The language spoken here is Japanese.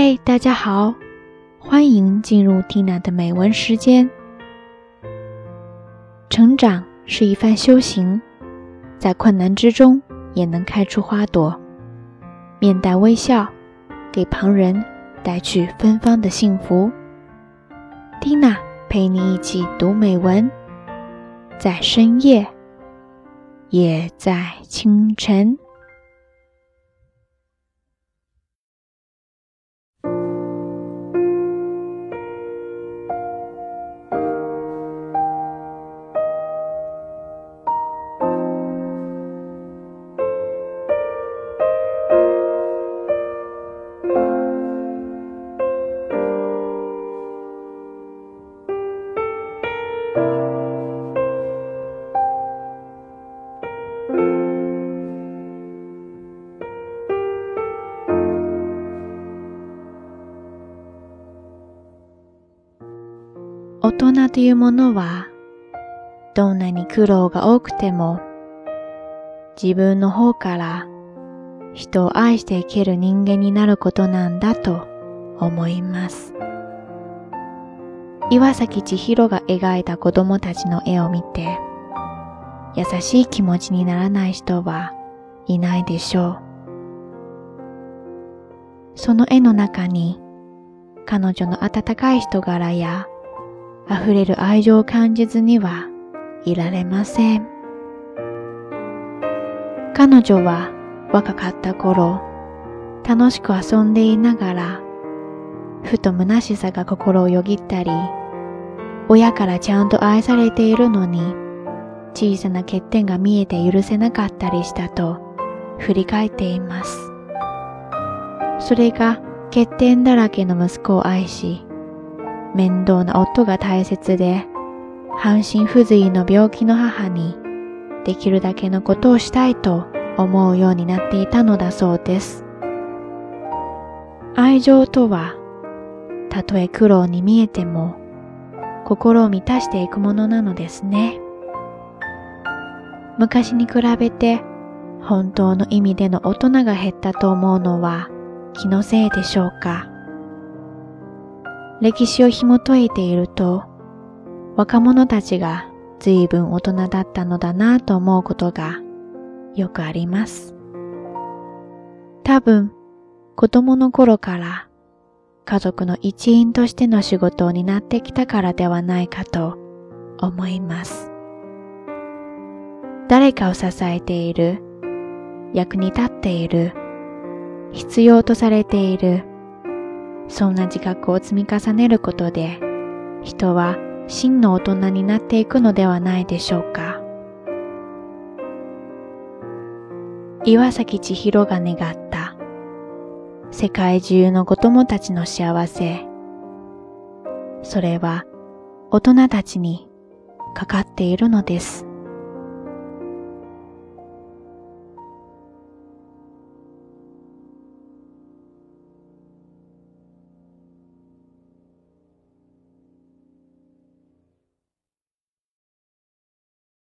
嗨，大家好，欢迎进入 Tina 的美文时间。成长是一番修行，在困难之中也能开出花朵，面带微笑，给旁人带去芬芳的幸福。Tina 陪你一起读美文，在深夜，也在清晨。大人というものは、どんなに苦労が多くても、自分の方から人を愛していける人間になることなんだと思います。岩崎千尋が描いた子供たちの絵を見て、優しい気持ちにならない人はいないでしょう。その絵の中に、彼女の温かい人柄や溢れる愛情を感じずにはいられません。彼女は若かった頃、楽しく遊んでいながら、ふと虚しさが心をよぎったり、親からちゃんと愛されているのに、小さな欠点が見えて許せなかったりしたと振り返っています。それが欠点だらけの息子を愛し、面倒な夫が大切で、半身不随の病気の母にできるだけのことをしたいと思うようになっていたのだそうです。愛情とは、たとえ苦労に見えても、心を満たしていくものなのですね。昔に比べて、本当の意味での大人が減ったと思うのは気のせいでしょうか。歴史を紐解いていると、若者たちが随分大人だったのだなと思うことがよくあります。多分、子供の頃から家族の一員としての仕事を担ってきたからではないかと思います。誰かを支えている、役に立っている、必要とされている、そんな自覚を積み重ねることで、人は真の大人になっていくのではないでしょうか。岩崎千尋が願った世界中の子供たちの幸せ、それは大人たちにかかっているのです。